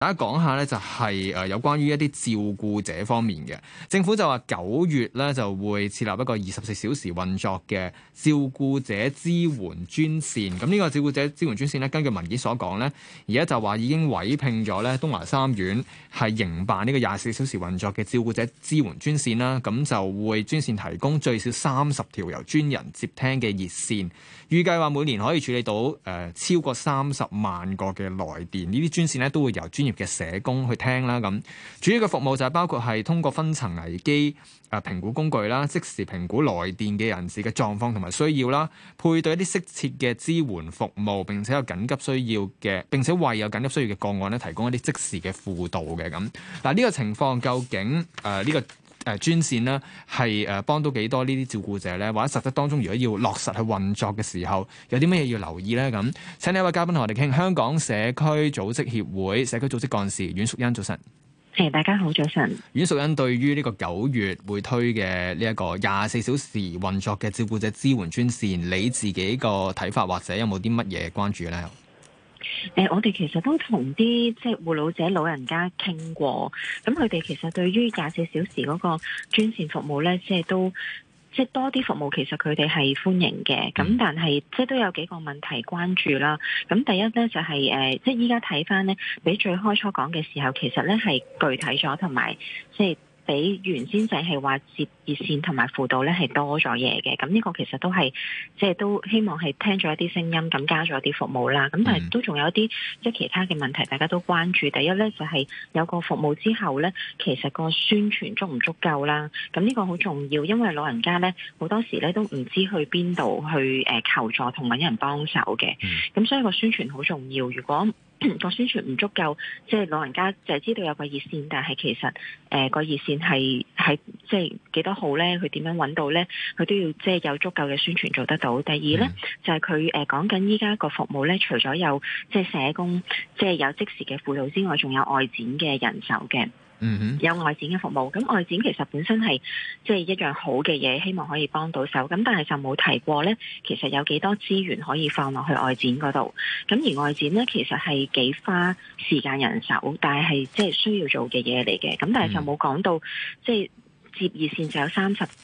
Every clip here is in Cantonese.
大家講下咧，就係有關於一啲照顧者方面嘅，政府就話9月咧就會設立一個24小時運作嘅照顧者支援專線。咁呢個照顧者支援專線咧，根據文件所講咧，而家就話已經委聘咗咧東華三院係營辦呢個24小時運作嘅照顧者支援專線啦。咁就會專線提供最少30條由專人接聽嘅熱線，預計話每年可以處理到超過30萬個嘅來電。呢啲專線咧都會由專業嘅社工去聽啦。咁主要嘅服務就係包括係通過分層危機評估工具啦，即時評估來電嘅人士嘅狀況同埋需要啦，配對一啲適切嘅支援服務，並且有緊急需要嘅，並且為有緊急需要嘅個案咧提供一啲即時嘅輔導嘅。咁嗱，呢個情況究竟呢個專線呢係幫到幾多呢啲照顧者咧？或者實質當中如果要落實去運作嘅時候，有啲乜嘢要留意咧？咁請呢一位嘉賓同我哋傾，香港社區組織協會社區組織幹事阮淑茵，早晨。 大家好，早晨。 阮淑茵，對於呢個9月會推嘅呢一個24小時運作嘅照顧者支援專線，你自己個睇法或者有冇啲乜嘢關注咧？ 我哋其實都同啲即係護老者老人家傾過，咁佢哋其實對於24小時嗰個專線服務咧，即係多啲服務，其實佢哋係歡迎嘅。咁但係即係都有幾個問題關注啦。咁第一咧就係即係依家睇翻咧，比最開初講嘅時候，其實咧係具體咗，同埋即係比原先就係話接熱線同埋輔導咧係多咗嘢嘅。咁呢個其實都係即係都希望係聽咗一啲聲音，咁加咗一啲服務啦。咁但係都仲有一啲即係其他嘅問題，大家都關注。第一咧就係有個服務之後咧，其實個宣傳足唔足夠啦。咁呢個好重要，因為老人家咧好多時咧都唔知去邊度去求助同揾人幫手嘅。咁所以個宣傳好重要。如果個宣傳唔足夠，即係老人家就係知道有個熱線，但係其實個熱線係即係幾多號咧？佢點樣揾到咧？佢都要即係有足夠嘅宣傳做得到。第二咧就係佢講緊依家個服務咧，除咗有即係社工，即係有即時嘅輔導之外，仲有外展嘅人手嘅。有外展嘅服務，咁外展其實本身係即係一樣好嘅嘢，希望可以幫到手。咁但係就冇提過呢，其實有幾多資源可以放落去外展嗰度。咁而外展呢，其實係幾花時間人手，但係即係需要做嘅嘢嚟嘅。咁但係就冇講到即係接熱線就有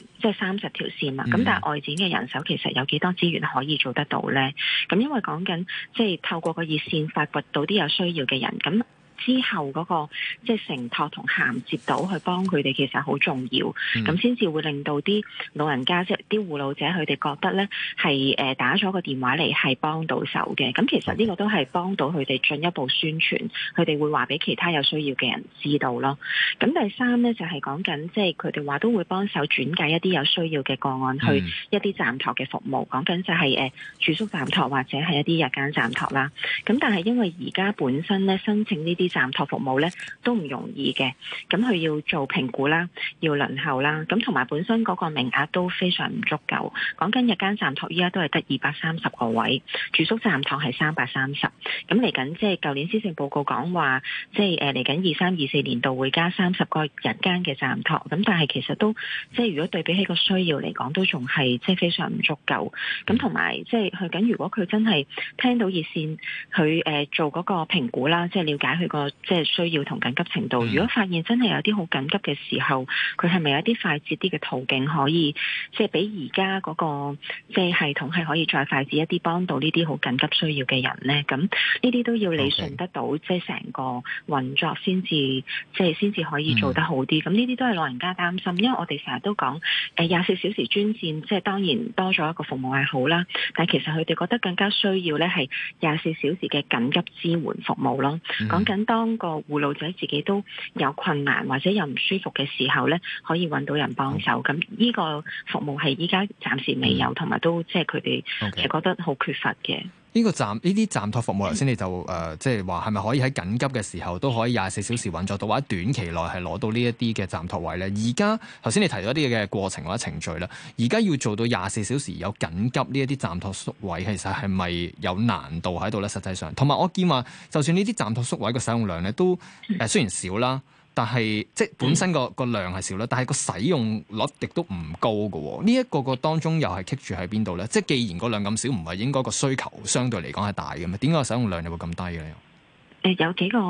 30條線嘛。咁但係外展嘅人手其實有幾多資源可以做得到呢？咁因為講緊即係透過個熱線發掘到啲有需要嘅人，咁之後嗰個即係承托同銜接到去幫佢哋，其實好重要，咁先至會令到啲老人家即係啲護老者佢哋覺得咧係打咗個電話嚟係幫到手嘅。咁其實呢個都係幫到佢哋進一步宣傳，佢哋會話俾其他有需要嘅人知道咯。咁第三咧就係講緊即係佢哋話都會幫手轉介一啲有需要嘅個案去一啲暫託嘅服務，講緊就係住宿暫託或者係一啲日間暫託啦。咁但係因為而家本身咧申請呢啲暫託服務咧都唔容易嘅，咁佢要做評估啦，要輪候啦，咁同埋本身嗰個名額都非常唔足夠。講緊日間暫託依家都係得230個位，住宿暫託係330。咁嚟緊即係舊年施政報告講話，即係嚟緊23-24年度會加30個日間嘅暫託。咁但係其實都即係如果對比起個需要嚟講，都仲係即係非常唔足夠。咁同埋即係去緊，如果佢真係聽到熱線，佢做嗰個評估啦，即係了解佢個即係需要同緊急程度。如果發現真係有啲好緊急嘅時候，佢係咪有啲快捷啲嘅途徑可以，即係比而家嗰個即係系統係可以再快捷一啲，幫到呢啲好緊急需要嘅人呢？咁呢啲都要理順得到，即係成個運作先至可以做得好啲。咁呢啲都係老人家擔心，因為我哋成日都講24小時專線，即係當然多咗一個服務係好啦，但係其實佢哋覺得更加需要咧係24小時嘅緊急支援服務咯。講緊當個護老者自己都有困難或者有唔舒服嘅時候咧，可以揾到人幫手。咁呢個服務係依家暫時未有，同埋都即係佢哋係覺得好缺乏嘅。 呢啲暫託服務，頭先你就即係話係咪可以喺緊急嘅時候都可以24小時運作到，或者短期內係攞到呢一啲嘅暫託位咧？而家頭先你提到一啲嘅過程或者程序啦，而家要做到24小時有緊急呢一啲暫託宿位，其實係咪有難度喺度咧？實際上，同埋我見話，就算呢啲暫託宿位嘅使用量咧，都雖然少啦。但係即係本身個量係少啦，但係個使用率亦都唔高嘅喎。呢一個當中又係棘住喺邊度咧？即係既然個量咁少，唔係應該個需求相對嚟講係大嘅咩？點解個使用量又會咁低嘅咧？ 有幾個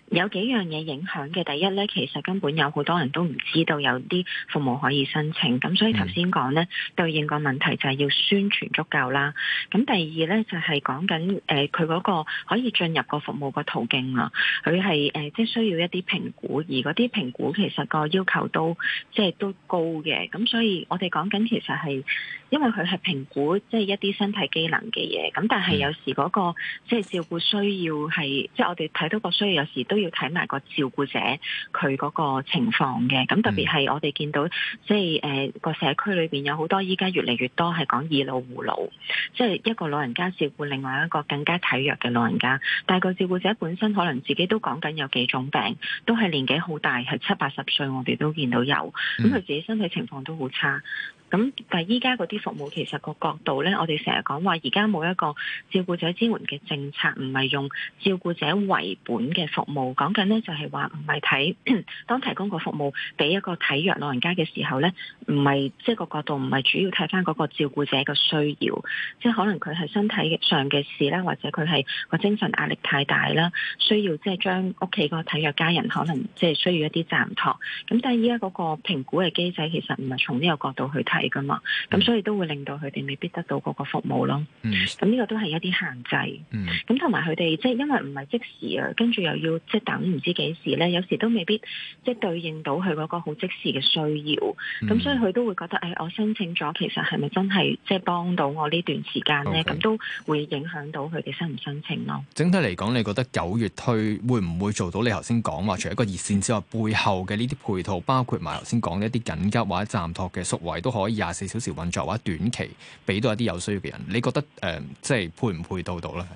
有幾樣嘢影響嘅。第一咧，其實根本有好多人都唔知道有啲服務可以申請，咁所以頭先講咧對應個問題就係要宣傳足夠啦。咁第二咧就係講緊佢嗰個可以進入個服務個途徑啦，佢係即係需要一啲評估，而嗰啲評估其實個要求都即係都高嘅。咁所以我哋講緊其實係因為佢係評估即係一啲身體機能嘅嘢，咁但係有時嗰個即係照顧需要係即係我哋睇到個需要，有時都要睇埋個照顧者佢嗰個情況嘅。咁特別係我哋見到即係個社區裏邊有好多依家越嚟越多係講以老護老，即係一個老人家照顧另外一個更加體弱嘅老人家，但係個照顧者本身可能自己都講緊有幾種病，都係年紀好大，係70-80歲，我哋都見到有，咁佢自己身體情況都好差。咁但係依家嗰啲服務其實個角度咧，我哋成日講話而家冇一個照顧者支援嘅政策，唔係用照顧者為本嘅服務。講緊咧就係話唔係睇當提供個服務俾一個體弱老人家嘅時候咧，唔係即係個角度唔係主要睇翻嗰個照顧者嘅需要，即係可能佢係身體上嘅事啦，或者佢係個精神壓力太大啦，需要即係將屋企個體弱家人可能即係需要一啲暫託。咁但係依家嗰個評估嘅機制其實唔係從呢個角度去睇噶嘛，咁所以都會令到佢哋未必得到嗰個服務咯。咁呢個都係一啲限制。咁同埋佢哋即係因為唔係即時啊，跟住又要即係等唔知幾時咧，有時都未必即係對應到佢嗰個好即時嘅需要。咁所以佢都會覺得我申請咗，其實係咪真係即係幫到我呢段時間咧？咁都會影響到佢哋申唔申請咯。 整體嚟講，你覺得9月推會唔會做到你頭先講話，除咗一個熱線之外，背後嘅呢啲配套，包括埋頭先講嘅一啲緊急或者暫託嘅宿位，都可以24小時運作，或者短期俾到一啲有需要嘅人？你覺得即係配唔配到咧？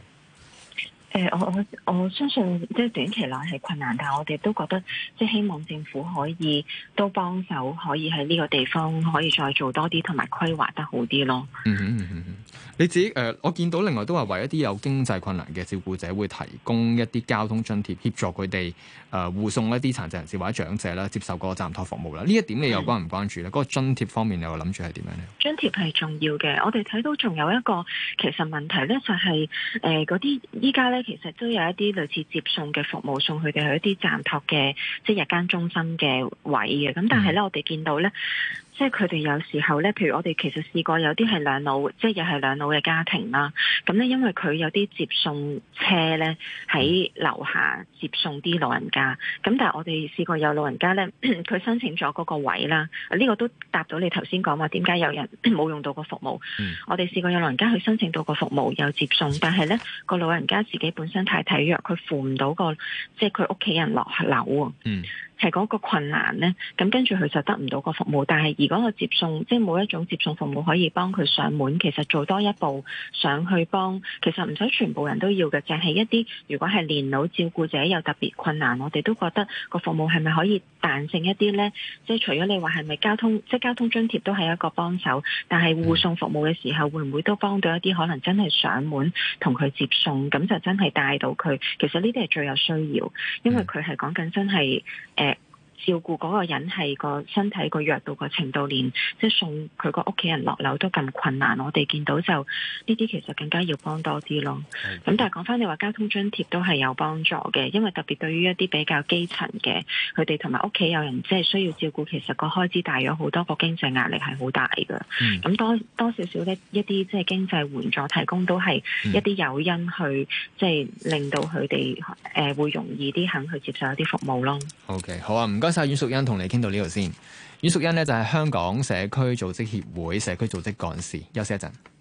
我相信即係短期內係困難，但係我哋都覺得即係希望政府可以都幫手，可以喺呢個地方可以再做多啲，同埋規劃得好啲咯。 你自己我見到另外都話為一啲有經濟困難嘅照顧者會提供一啲交通津貼，協助佢哋護送一啲殘疾人士或者長者啦，接受個暫託服務啦。呢一點你又關唔關注咧？嗰個津貼方面你又諗住係點樣咧？ 津貼係重要嘅，我哋睇到仲有一個其實問題咧，就係嗰啲依家咧其實都有一啲類似接送嘅服務，送佢哋去一啲暫託嘅即係日間中心嘅位嘅。咁但係咧，我哋見到咧，即係佢哋有時候咧，譬如我哋其實試過有啲係兩老，即係又係兩老嘅家庭啦。咁咧，因為佢有啲接送車咧喺樓下接送啲老人家。咁但係我哋試過有老人家咧，佢申請咗嗰個位啦。呢個都答到你頭先講話點解有人冇用到個服務。我哋試過有老人家去申請到個服務有接送，但係咧個老人家自己本身太體弱，佢扶唔到個即係佢屋企人落樓啊。係嗰個困難咧，咁跟住佢就得唔到個服務。但係如果個接送，即係冇一種接送服務可以幫佢上門，其實做多一步上去幫，其實唔使全部人都要嘅，淨係一啲如果係年老照顧者有特別困難，我哋都覺得個服務係咪可以彈性一啲咧？即係除咗你話係咪交通，即係交通津貼都係一個幫手，但係護送服務嘅時候，會唔會都幫到一啲可能真係上門同佢接送，咁就真係帶到佢？其實呢啲係最有需要，因為佢係講緊真係照顧嗰個人係個身體個弱到個程度，連即係送佢個屋企人落樓都咁困難，我哋見到就呢啲其實更加要幫多啲咯。咁但係講翻你話交通津貼都係有幫助嘅，因為特別對於一啲比較基層嘅，佢哋同埋屋企有人即係需要照顧，其實個開支大咗好多，個經濟壓力係好大㗎。咁多少少咧一啲即係經濟援助提供都係一啲誘因去即係令到佢哋會容易啲肯去接受一啲服務咯。 OK， 好啊，唔該晒阮淑茵，同你傾到呢度先。阮淑茵呢就係香港社區組織協會社區組織幹事，休息一陣。